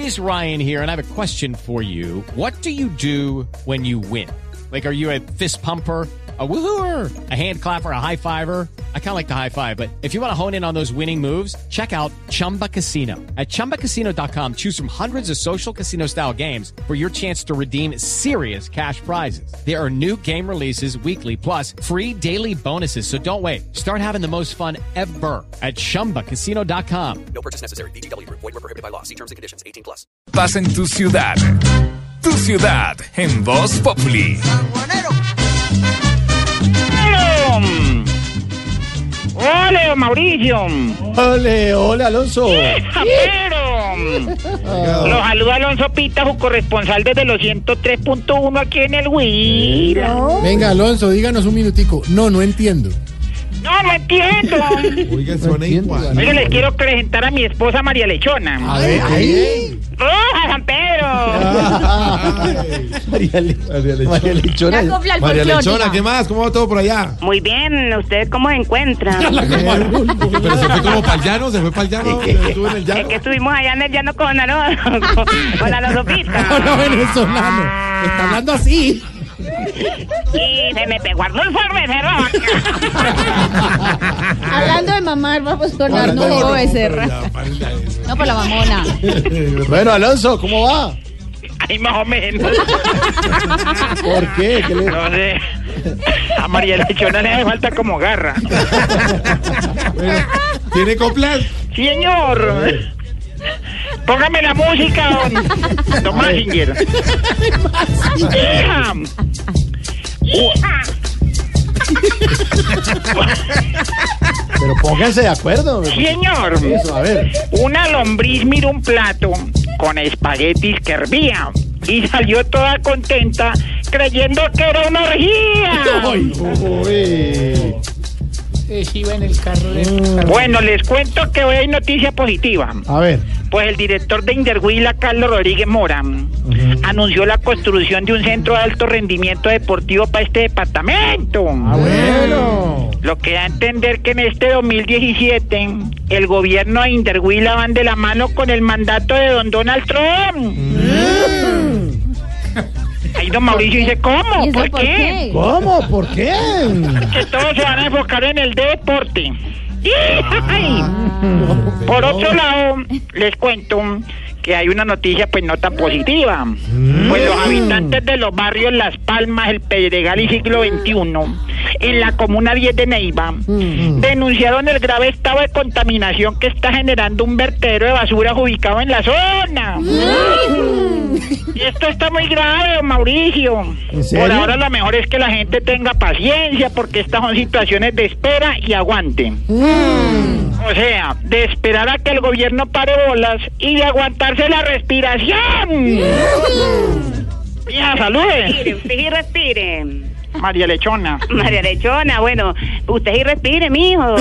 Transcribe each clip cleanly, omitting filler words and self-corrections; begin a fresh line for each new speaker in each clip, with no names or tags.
is Ryan here, and I have a question for you. What do you do when you win? Like, are you a fist pumper, a woohooer, a hand clapper, a high fiver? I kind of like the high five, but if you want to hone in on those winning moves, check out Chumba Casino. At ChumbaCasino.com, choose from hundreds of social casino-style games for your chance to redeem serious cash prizes. There are new game releases weekly, plus free daily bonuses. So don't wait. Start having the most fun ever at ChumbaCasino.com.
No purchase necessary. VGW Group. Void where prohibited by law. See terms and conditions. 18+.
Pasa en tu ciudad. Tu ciudad en Voz Populi.
¡Ole, don Mauricio!
¡Ole, Alonso!
¡Pero! Lo saluda Alonso Pita, su corresponsal desde los 103.1 aquí en el Huila.
Venga, Alonso, díganos un minutico. No entiendo.
No entiendo.
Oiga, suena igual.
Oiga, les quiero presentar a mi esposa María Lechona.
A ver, ahí.
¡Oh, San Pedro!
María Lechona.
María Lechona, ¿qué más? ¿Cómo va todo por allá?
Muy bien, ¿usted cómo se encuentra?
Pero se fue como para el llano, estuvo en el
Es
llano.
que estuvimos allá en el llano con la Sopita.
No, venezolano. Está hablando así.
Y se me pegó Arnulfo Becerra.
Hablando de mamar, vamos con Arnulfo Becerra. No, por la mamona.
Bueno, Alonso, ¿cómo va?
Ahí más o menos.
¿Por qué?
No sé. A María Lechona le hace falta como garra.
Bueno, ¿tiene coplas?
Sí, señor. Póngame la música, don Massinger. Hija.
Pero pónganse de acuerdo.
Sí, señor.
Eso, a ver.
Una lombriz miró un plato con espaguetis que hervía y salió toda contenta creyendo que era una orgía.
Iba en el carro
Bueno, les cuento que hoy hay noticia positiva.
A ver.
Pues el director de Inderhuila, Carlos Rodríguez Mora, anunció la construcción de un centro de alto rendimiento deportivo para este departamento.
Bueno.
Lo que da a entender que en este 2017 el gobierno de Inderhuila van de la mano con el mandato de don Donald Trump. Ahí don Mauricio dice, ¿cómo? ¿Por qué?
¿Cómo? ¿Por qué?
Que todos se van a enfocar en el deporte. Por otro lado, les cuento que hay una noticia pues no tan positiva. Pues los habitantes de los barrios Las Palmas, El Pedregal y Siglo XXI, en la comuna 10 de Neiva, denunciaron el grave estado de contaminación que está generando un vertedero de basura ubicado en la zona. Y esto está muy grave, don Mauricio.
¿En serio?
Por ahora lo mejor es que la gente tenga paciencia, porque estas son situaciones de espera y aguante. O sea, de esperar a que el gobierno pare bolas y de aguantarse la respiración. Mija, salude.
Usted sí respire.
María Lechona.
María Lechona, bueno, usted sí respire, mijo.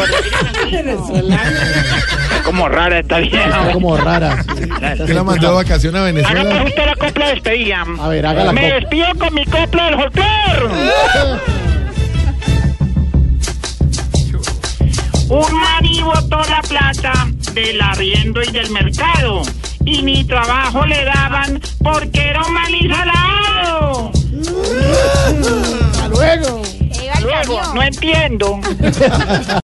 Como rara esta vieja.
Como rara.
¿Qué la mandó de vacaciones a
Haga
Venezuela?
pues usted la copla de despedida.
A ver, haga la
Me
copla.
despido con mi copla del folclor. Un marido botó la plata del arriendo y del mercado y ni trabajo le daban porque era un maní salado.
Hasta luego.
Luego, no entiendo.